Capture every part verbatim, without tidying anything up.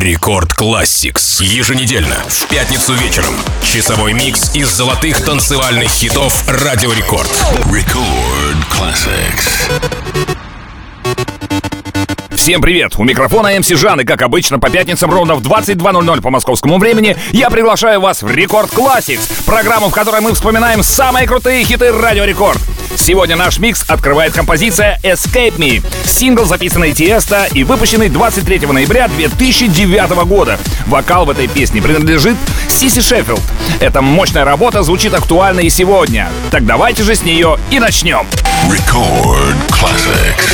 Рекорд Classics. Еженедельно, в пятницу вечером. Часовой микс из золотых танцевальных хитов Радио Рекорд. Record Classics. Всем привет! У микрофона эм си Жан, и как обычно по пятницам ровно в двадцать два ноль ноль по московскому времени я приглашаю вас в Рекорд Classics, программу, в которой мы вспоминаем самые крутые хиты Радио Рекорд. Сегодня наш микс открывает композиция Escape Me, сингл, записанный Тиесто и выпущенный двадцать третьего ноября две тысячи девятого года. Вокал в этой песне принадлежит Сиси Шеффилд. Эта мощная работа звучит актуально и сегодня. Так давайте же с нее и начнем. Record Classics.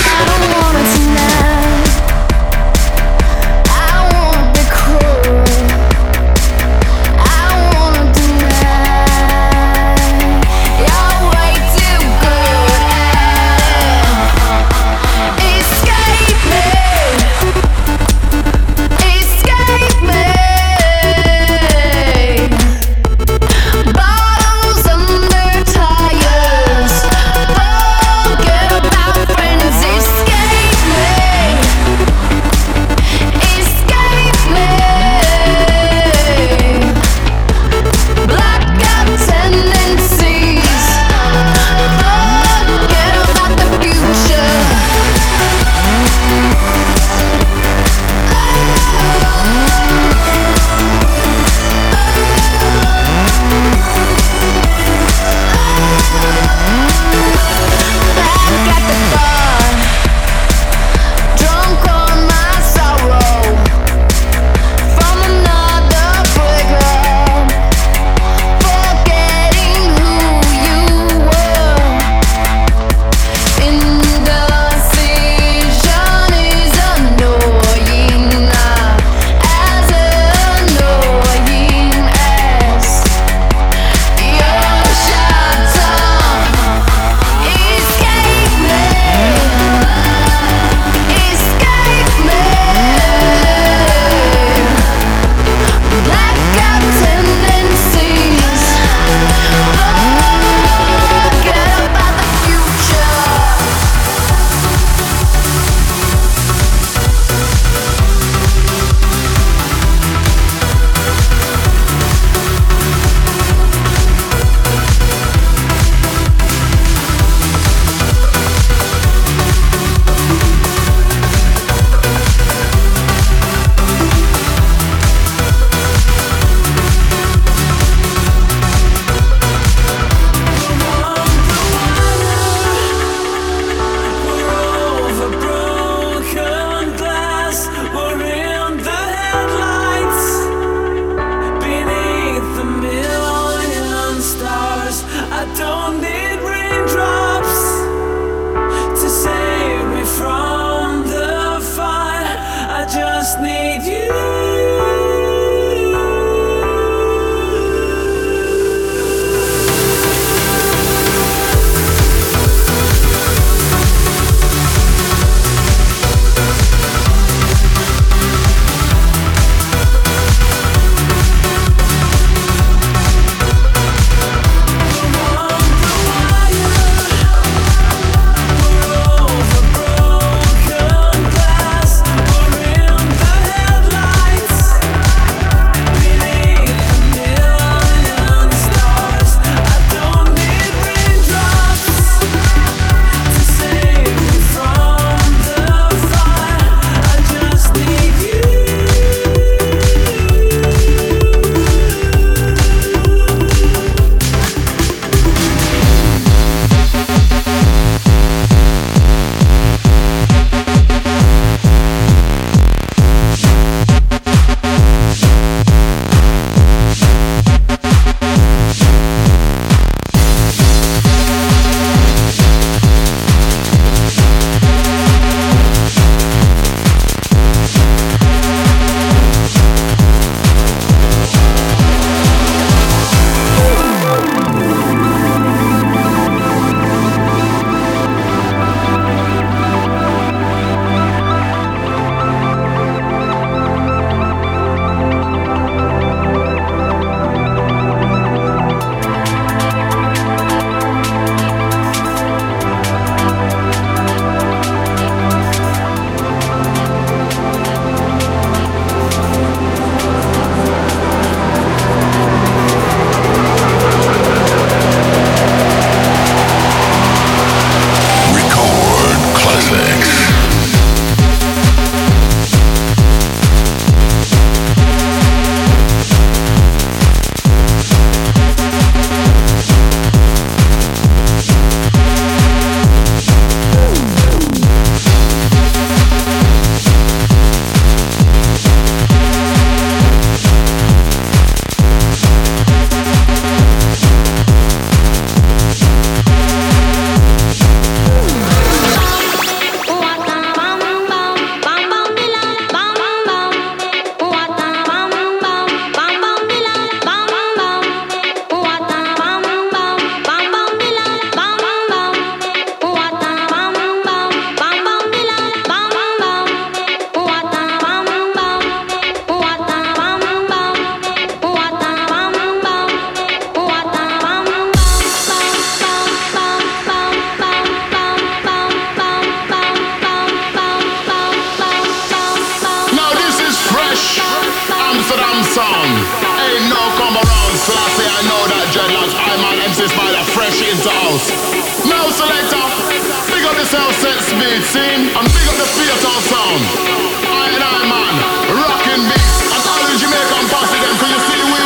to house. Now selector, big up the sound set speed, see? And big up the theater sound. I and I man, rocking beats. And all the Jamaican posse them, can you see we?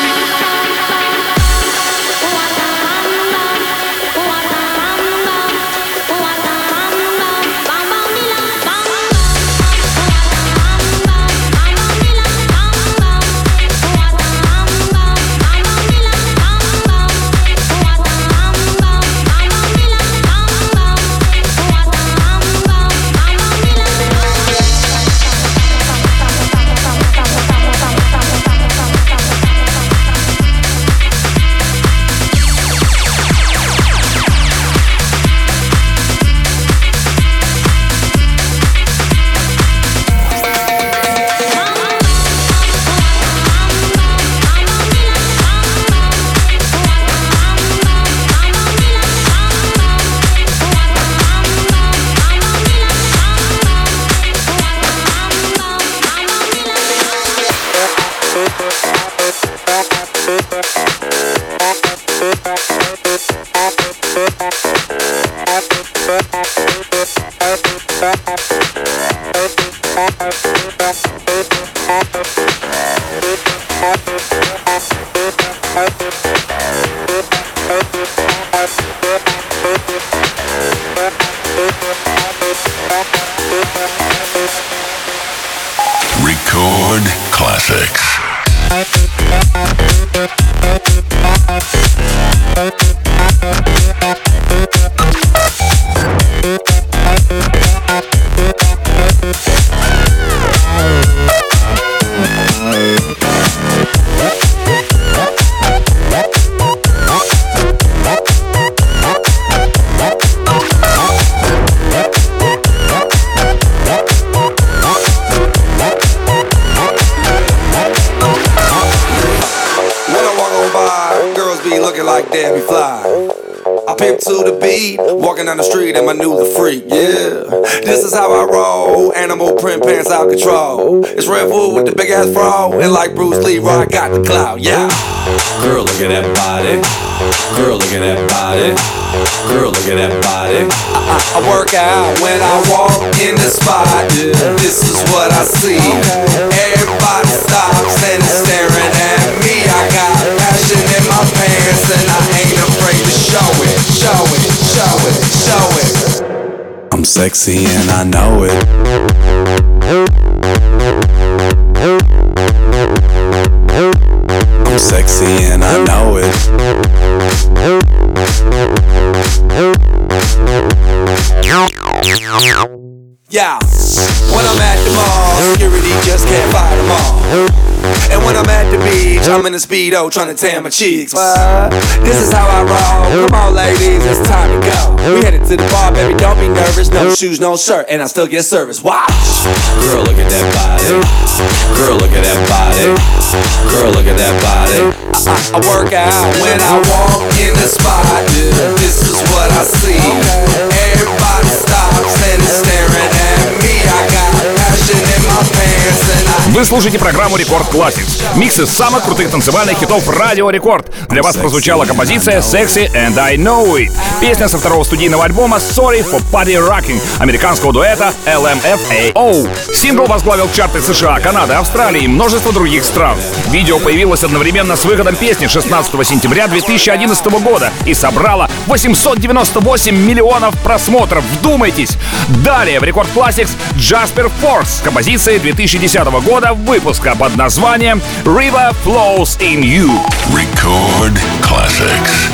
Record classics. Debbie Fly. I pimp to the beat, walking down the street and I knew the freak, yeah. This is how I roll, animal print pants out control. It's Red Bull with the big ass fro, and like Bruce Lee, I got the clout, yeah. Girl, look at that body. Girl, look at that body. Girl, look at that body. I, I, I work out when I walk in the spot. This is what I see. Everybody stops and is staring at me. I got passion in my pants and I ain't afraid to show it, show it, show it, show it. I'm sexy and I know it. I'm sexy and I know it. Yeah, when I'm at the mall, security just can't fight them all. And when I'm at the beach, I'm in a Speedo trying to tan my cheeks. What? This is how I roll. Come on, ladies, it's time to go. We headed to the bar, baby, don't be nervous. No shoes, no shirt, and I still get service. Watch. Girl, look at that body. Girl, look at that body. Girl, look at that body. I, I, I work out when I walk in the spot. This is what I see. Everybody stops and is staring at me. I got passion in my pants and I... Вы слушаете программу Рекорд Classics. Микс из самых крутых танцевальных хитов Радио Рекорд. Для вас прозвучала композиция Sexy and I Know It. Песня со второго студийного альбома Sorry for Party Rocking американского дуэта эл эм эф эй оу. Сингл возглавил чарты США, Канады, Австралии и множество других стран. Видео появилось одновременно с выходом песни шестнадцатого сентября две тысячи одиннадцатого года и собрало восемьсот девяносто восемь миллионов просмотров. Вдумайтесь! Далее в Рекорд Classics Jasper Force с композицией две тысячи десятого года выпуска под названием River Flows in You. Record Classics.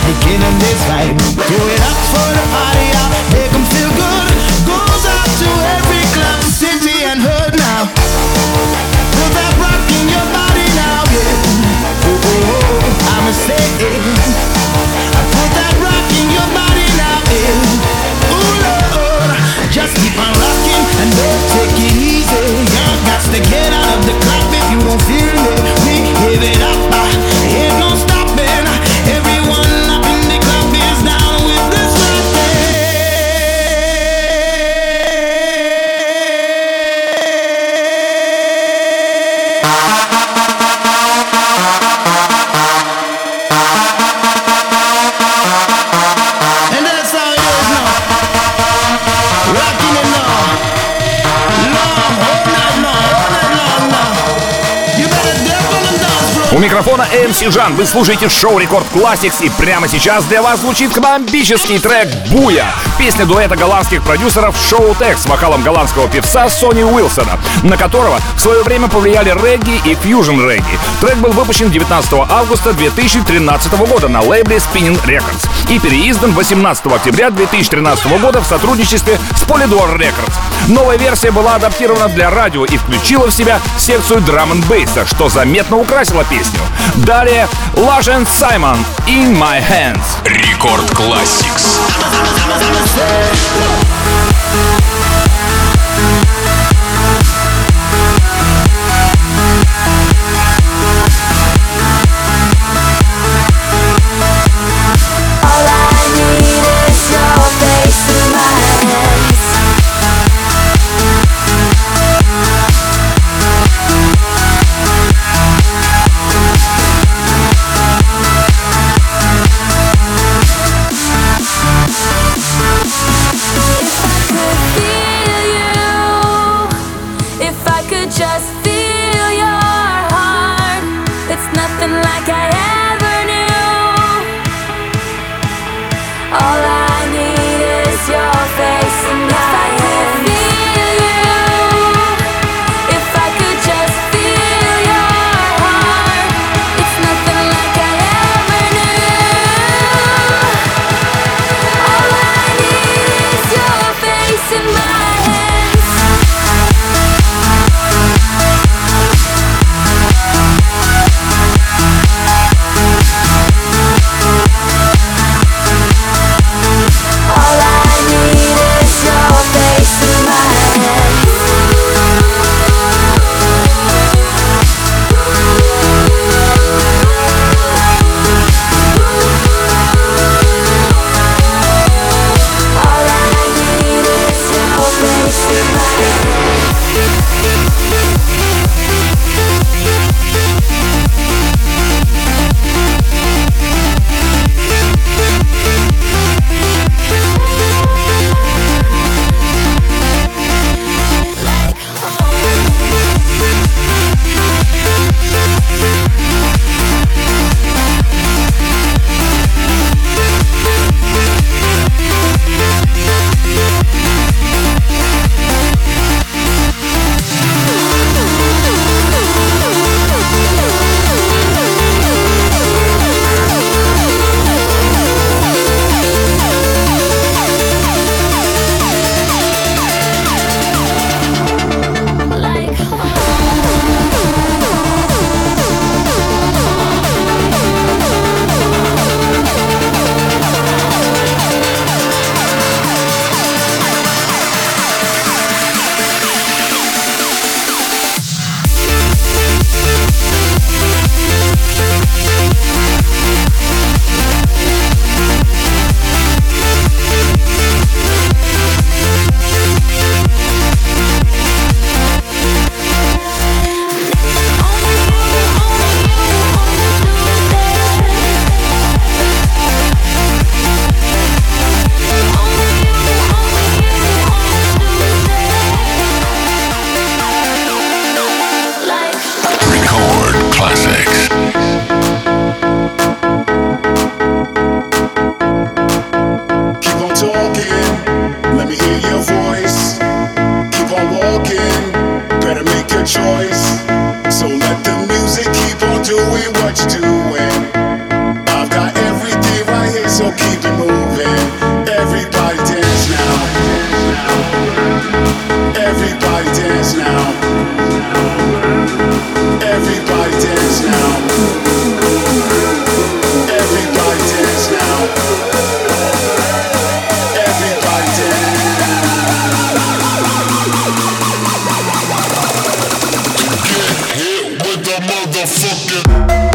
Give them this vibe. Do it up for the party out. Make them feel good. Goes out to every club, city and hood now. Put that rock in your body now, yeah. Oh, oh, oh, I'ma say it. I put that rock in your body now, yeah. Ooh, Lord, just keep on rocking and don't take it easy. You got to get out of the club if you don't feel me. We give it up, uh, ain't no stopping. Everyone up in the club is down with this rockin'. And that's how it is now. Rocking it now. Long, all night long, all night long now. You better dip on the dance floor. У микрофона эм си Жан. Вы слушаете шоу Рекорд Classics, и прямо сейчас для вас звучит бомбический трек «Буя». Песня дуэта голландских продюсеров Шоу Тех с вокалом голландского певца Сони Уилсона, на которого в свое время повлияли регги и фьюжн регги. Трек был выпущен девятнадцатого августа две тысячи тринадцатого года на лейбле Spinning Records и переиздан восемнадцатого октября две тысячи тринадцатого года в сотрудничестве с Polydor Records. Новая версия была адаптирована для радио и включила в себя секцию драм-н-бейса, что заметно украсило песню. Далее Lush and Simon «In My Hands». Рекорд Classics. All I need is your face in my hands. If I so keep it moving. Everybody dance now. Everybody dance now. Everybody dance now. Everybody dance now. Everybody dance. Get hit with the motherfucking.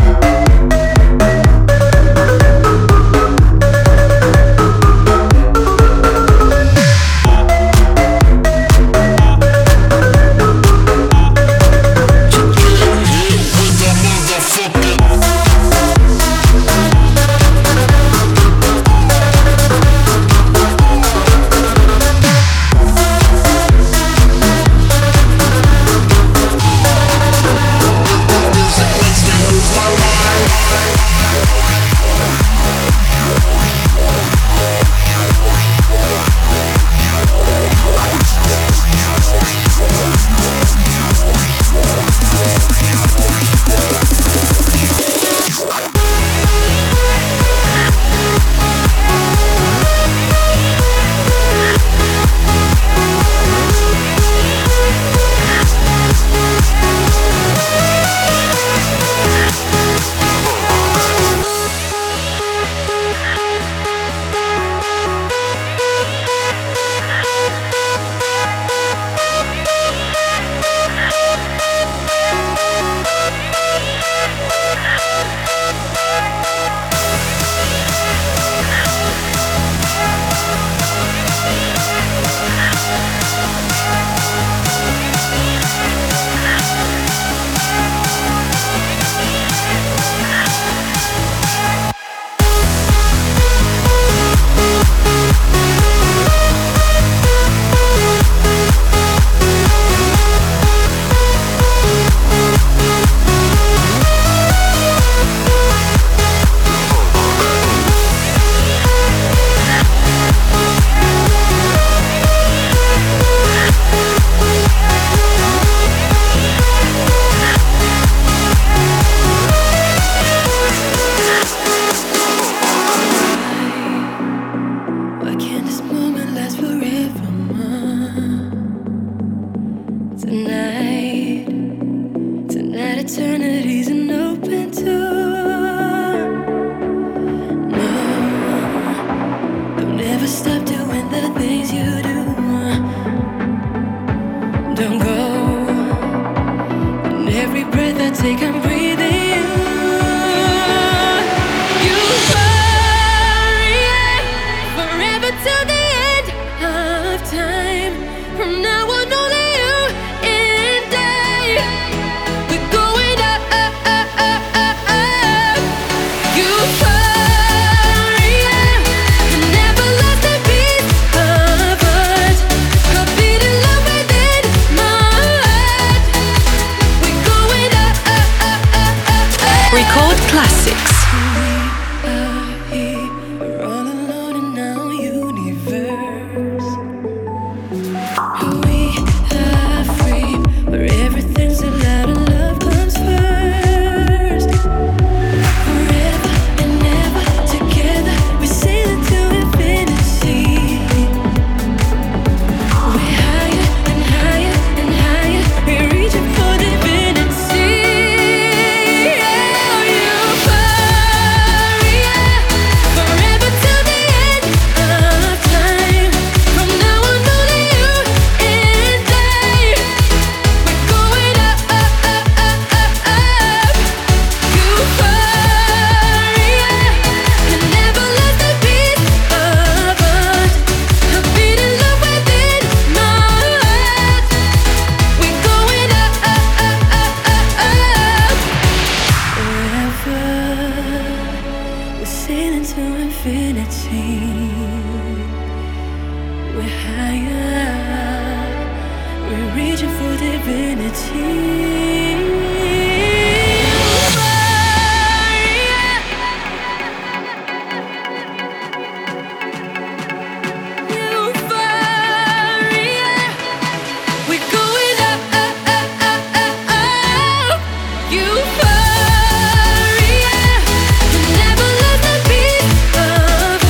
Euphoria, never let the beat of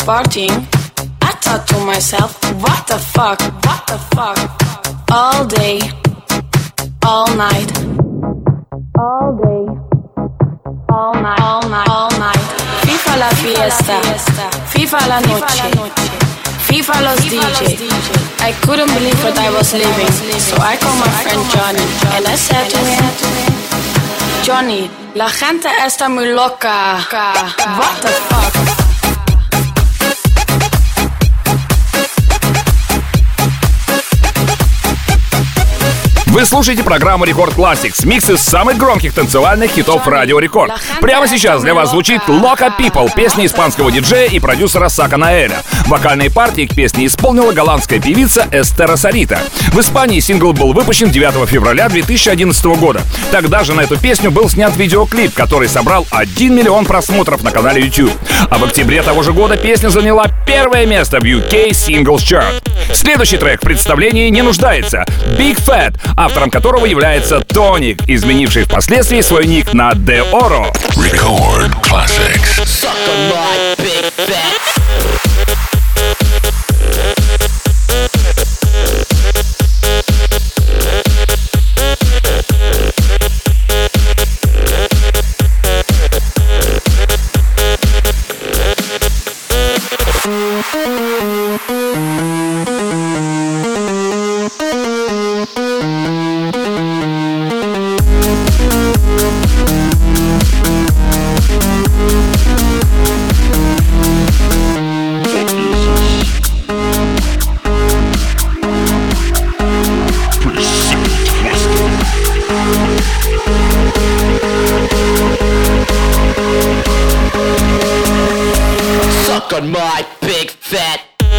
partying, I thought to myself, what the fuck, what the fuck? All day, all night, all day, all night, all night, all night. FIFA la fiesta, FIFA la noche, FIFA los D J. I couldn't believe what I was living, so I called my friend Johnny and I said to him, Johnny, la gente está muy loca. What the fuck? Вы слушаете программу Рекорд Classics, микс из самых громких танцевальных хитов Радио Рекорд. Прямо сейчас для вас звучит Loca People, песня испанского диджея и продюсера Сака Наэля. Вокальные партии к песне исполнила голландская певица Эстера Сарита. В Испании сингл был выпущен девятого февраля две тысячи одиннадцатого года. Тогда же на эту песню был снят видеоклип, который собрал один миллион просмотров на канале YouTube. А в октябре того же года песня заняла первое место в ю кей Singles Chart. Следующий трек в представлении не нуждается. Big Fat, автором которого является Тоник, изменивший впоследствии свой ник на De Oro. Record Classics. On my big fat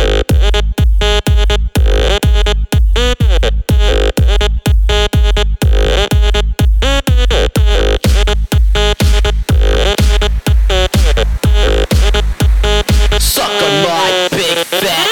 suck on my big fat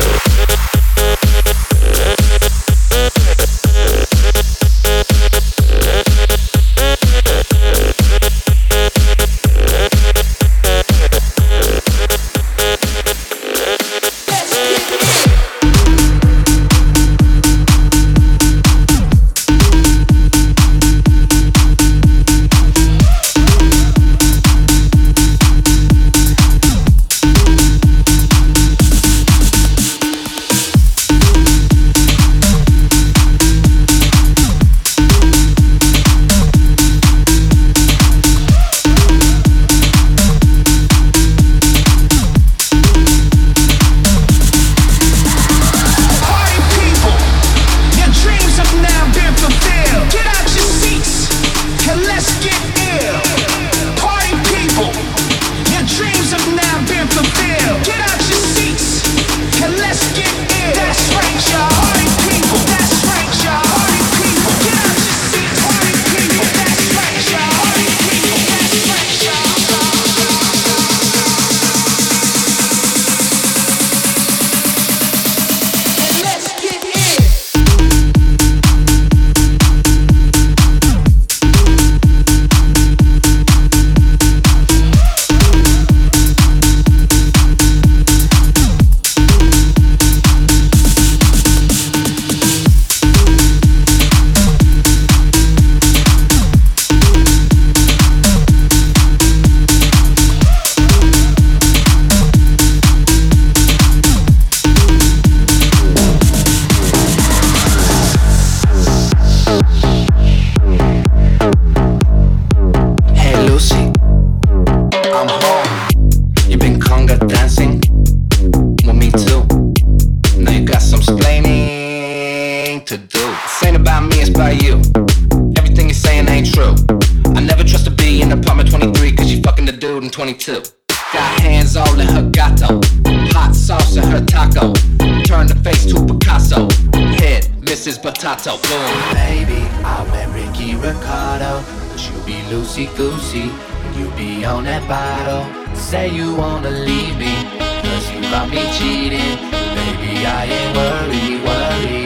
twenty-two. Got hands all in her gato, hot sauce in her taco. Turn the face to Picasso, head Missus Potato. Boom. Baby, I met Ricky Ricardo, but you be loosey goosey when you be on that bottle. Say you wanna leave me, cause you got me cheating. Baby, I ain't worried, worried,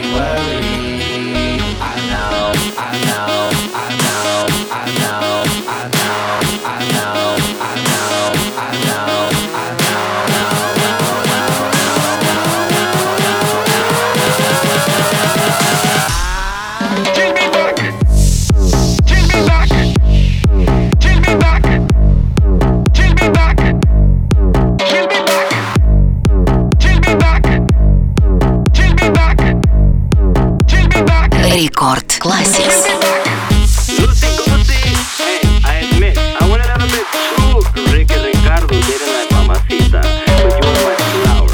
worried. I know, I know, I know, I know, I know, I know, I know, I know, I know, I know, Classics. Lucy Goosey, hey, I admit, I went a little bit too Ricky Ricardo, didn't I, mamacita? But you were my flower.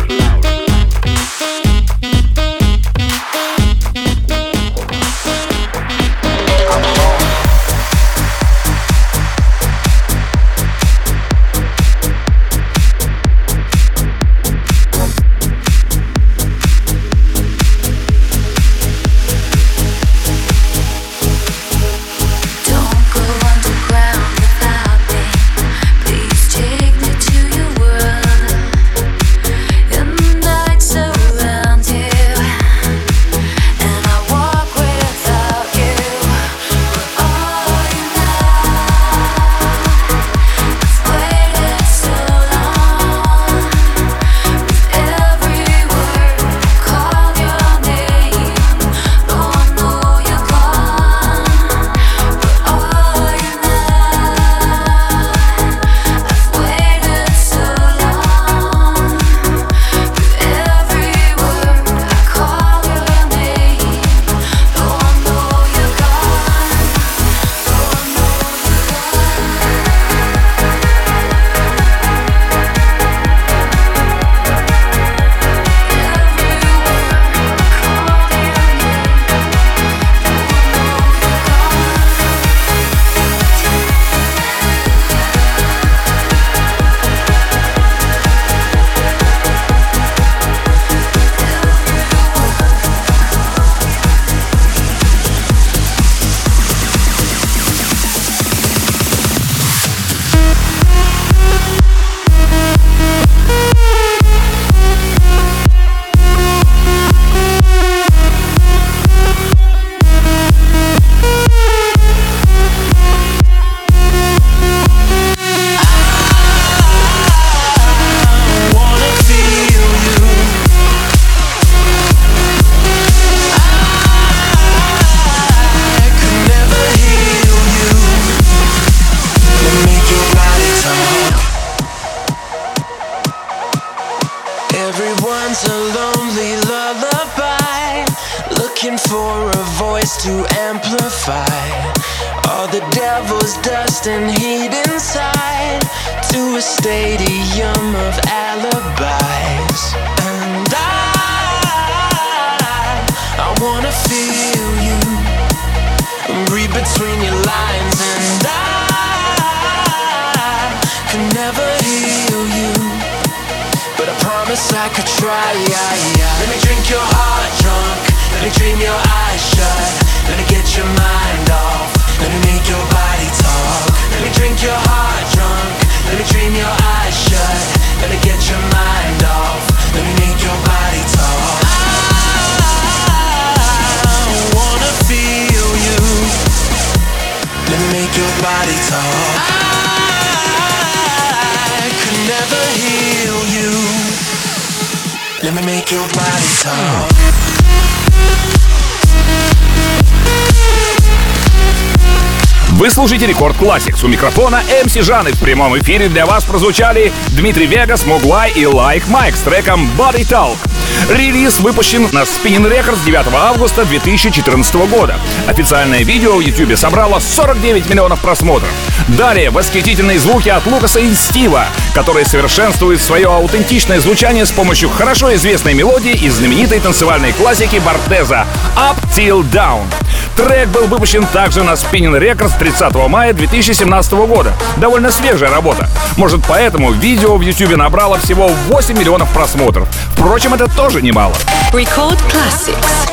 Вы слушаете Рекорд Classics. У микрофона эм си Жан. И в прямом эфире для вас прозвучали Дмитрий Вегас, Могвай и Like Mike с треком Body Talk. Релиз выпущен на Spinnin' Records девятого августа две тысячи четырнадцатого года. Официальное видео в YouTube собрало сорок девять миллионов просмотров. Далее восхитительные звуки от Лукаса и Стива, которые совершенствуют свое аутентичное звучание с помощью хорошо известной мелодии из знаменитой танцевальной классики Бартеза «Up Till Down». Трек был выпущен также на Spinnin' Records тридцатого мая две тысячи семнадцатого года. Довольно свежая работа. Может, поэтому видео в YouTube набрало всего восемь миллионов просмотров. Впрочем, это тоже немало. Record Classics.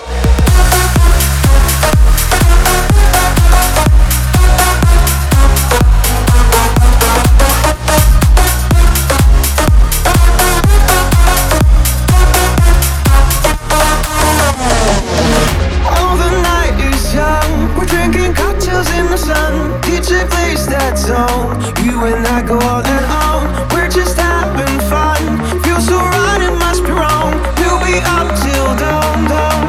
You and I go all in on. We're just having fun. Feels so right, it must be wrong. We'll be up till dawn, dawn.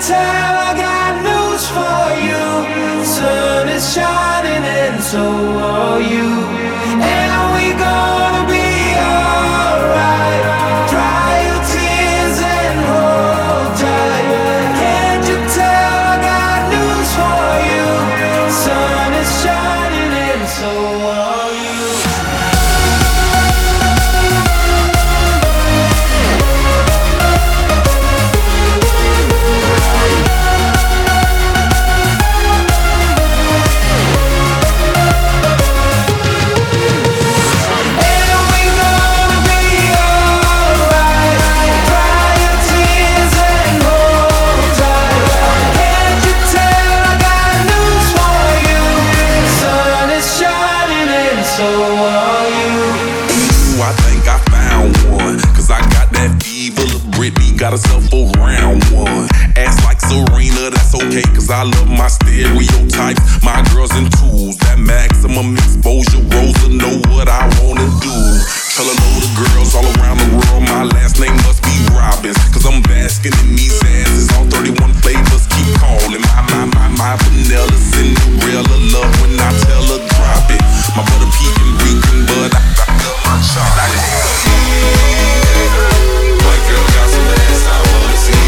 tell, I got news for you. Sun is shining and so are you. And we gonna be alright. Dry your tears and hold tight. Can't you tell, I got news for you. Sun is shining and so are you. Got herself a round one. Ass like Serena, that's okay, cause I love my stereotypes. My girls in twos, that maximum exposure. Rosa know what I wanna do. Tell a load of girls all around the world my last name must be Robbins, cause I'm basking in these asses. All thirty-one flavors keep calling. My, my, my, my vanilla Cinderella love when I tell her drop it. My butter pecan reeking, but I, I love my chocolate. White girl got some ass I wanna see.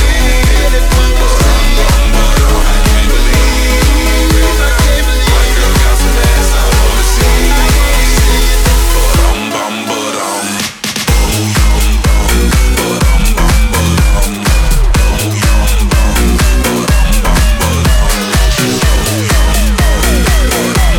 White girl got some ass I wanna see. Ba-dum bum ba-dum. Oh yum bum. Ba-dum bum ba-dum. Oh yum bum. Ba-dum bum ba-dum. Oh yum bum. Ba-dum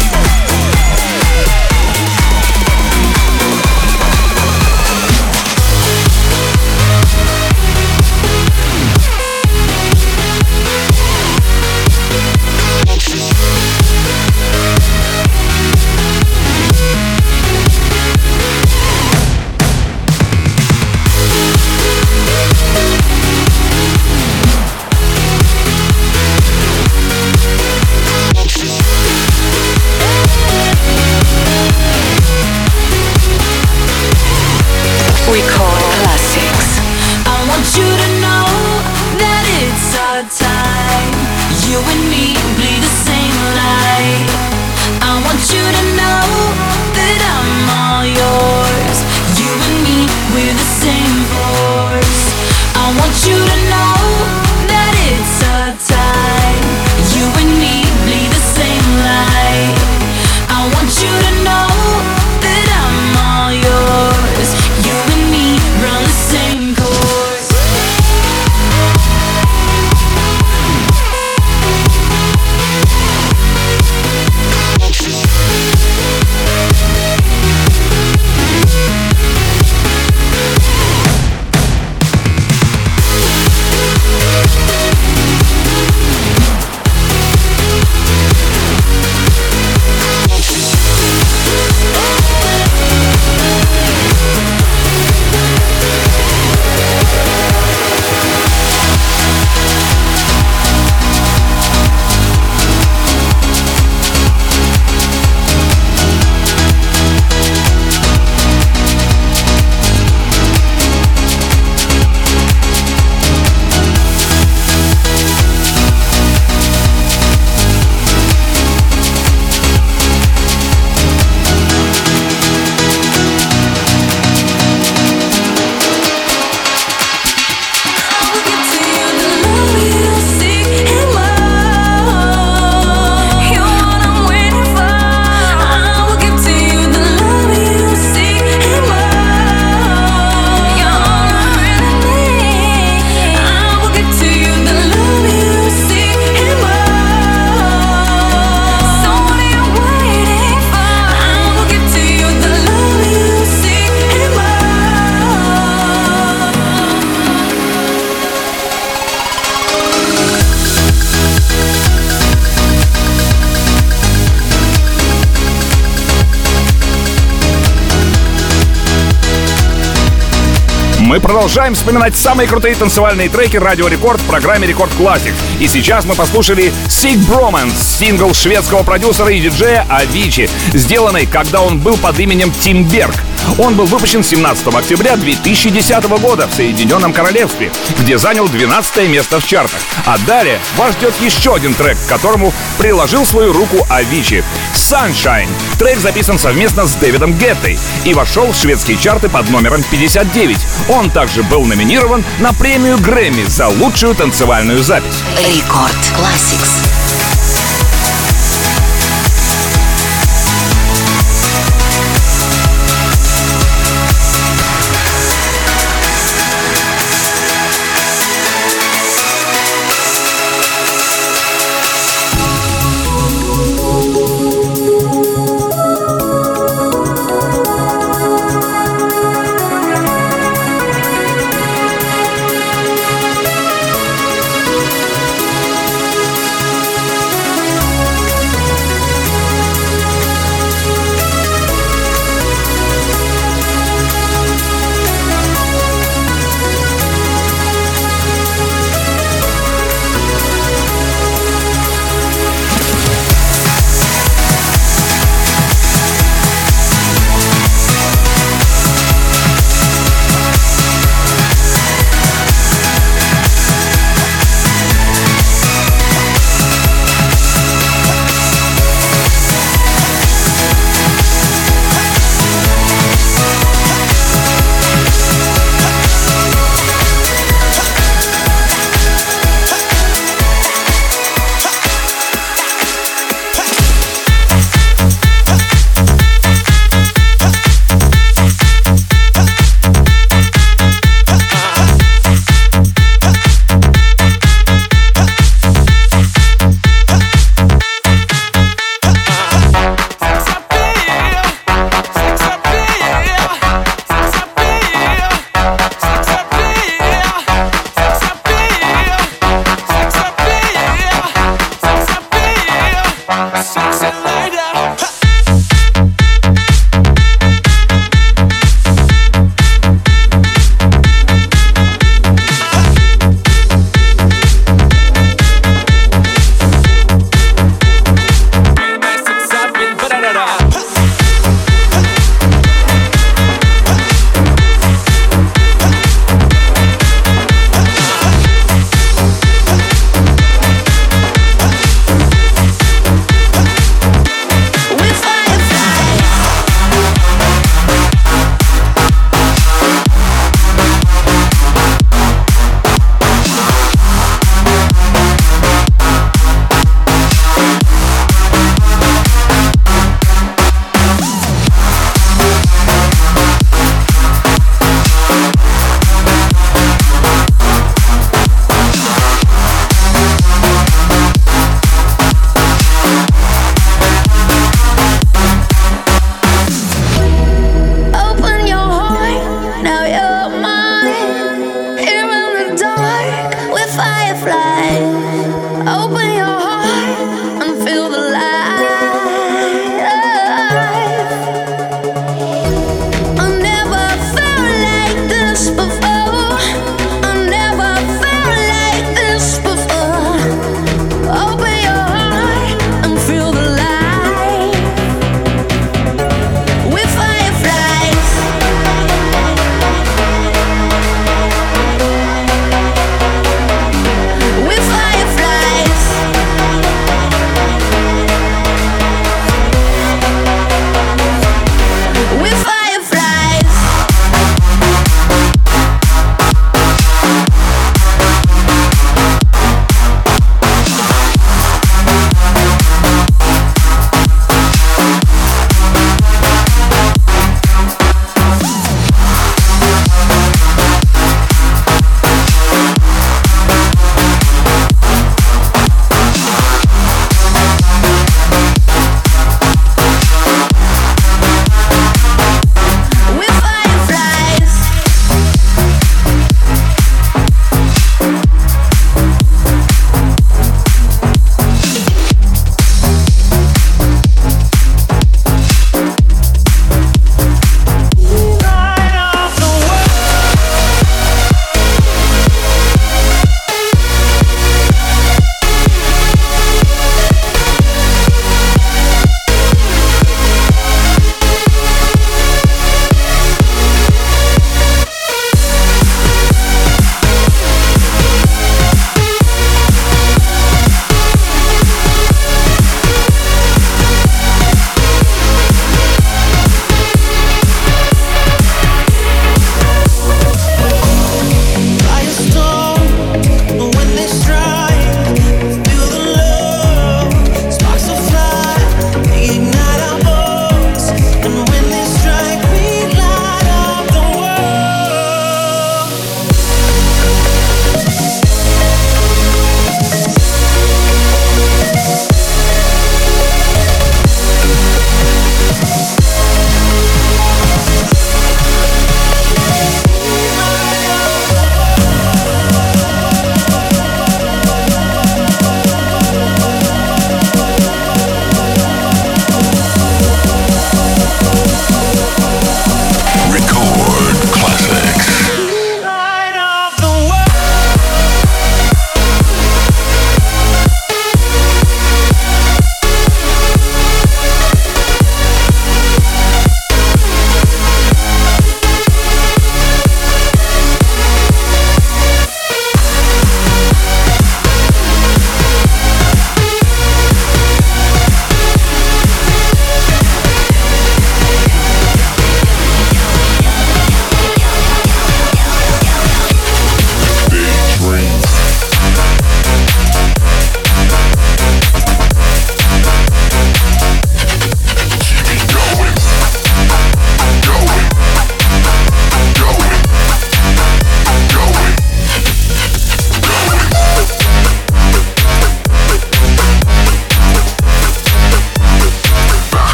Record Classics. I want you to know that it's our time. You and me bleed the same light. I want you to know that I'm all yours. You and me, we're the same force. I want you to know that it's our time. You and me bleed the same light. I want you to know that I'm all yours. You and me run the same course. Мы продолжаем вспоминать самые крутые танцевальные треки Радио Рекорд в программе Рекорд Classics. И сейчас мы послушали Sick Bromance, сингл шведского продюсера и диджея Avicii, сделанный, когда он был под именем Тим Берг. Он был выпущен семнадцатого октября две тысячи десятого года в Соединенном Королевстве, где занял двенадцатое место в чартах. А далее вас ждет еще один трек, к которому приложил свою руку Avicii. Sunshine. Трек записан совместно с Дэвидом Геттой и вошел в шведские чарты под номером пятьдесят девять. Он также был номинирован на премию Грэмми за лучшую танцевальную запись. Рекорд Classics.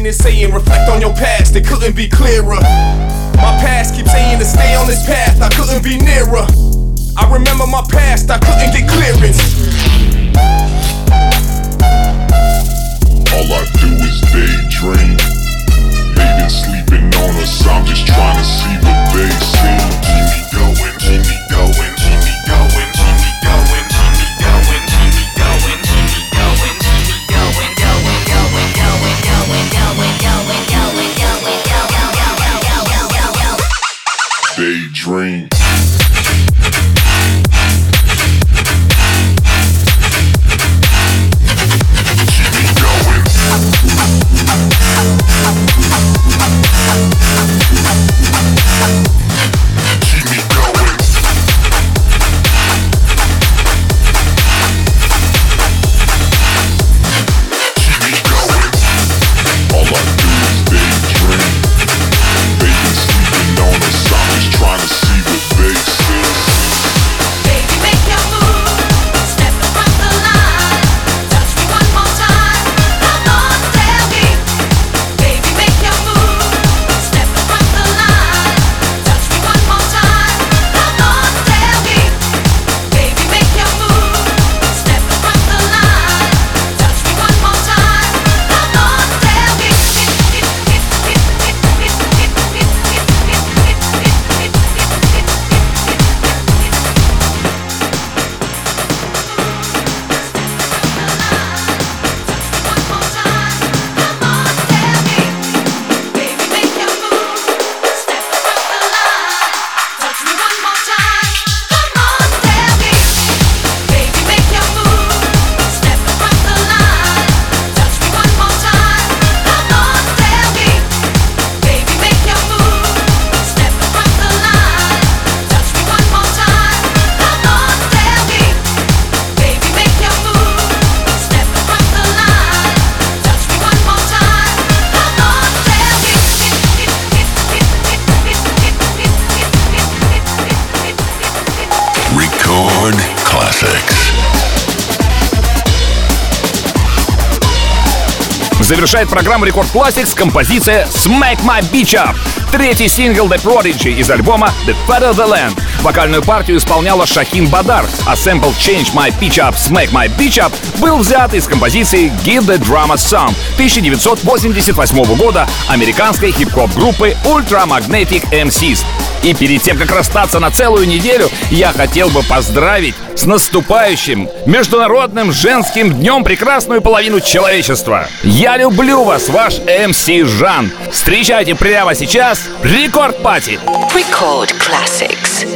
saying is saying, reflect on your past, it couldn't be clearer. My past keeps saying to stay on this path, I couldn't be nearer. I remember my past, I couldn't get clearance. All I do is daydream. They been sleeping on us, I'm just trying to see what they see. Keep me going, keep me going, keep me going, keep me going, keep me going, keep me going, keep me going, keep me going, going, going, going, going, going, going, going, going, going, going, daydream. Завершает программу Рекорд Classics композиция «Smack My Bitch Up», третий сингл The Prodigy из альбома The Fatter the Land. Вокальную партию исполняла Шахин Бадар, а сэмпл «Change My Pitch Up, Smack My Bitch Up» был взят из композиции «Give the Drum a Song» тысяча девятьсот восемьдесят восьмого года американской хип-хоп группы Ultra Magnetic эм сис. И перед тем, как расстаться на целую неделю, я хотел бы поздравить с наступающим Международным женским днем прекрасную половину человечества. Я люблю вас, ваш эм си Жан. Встречайте прямо сейчас Рекорд Пати. Record Classics.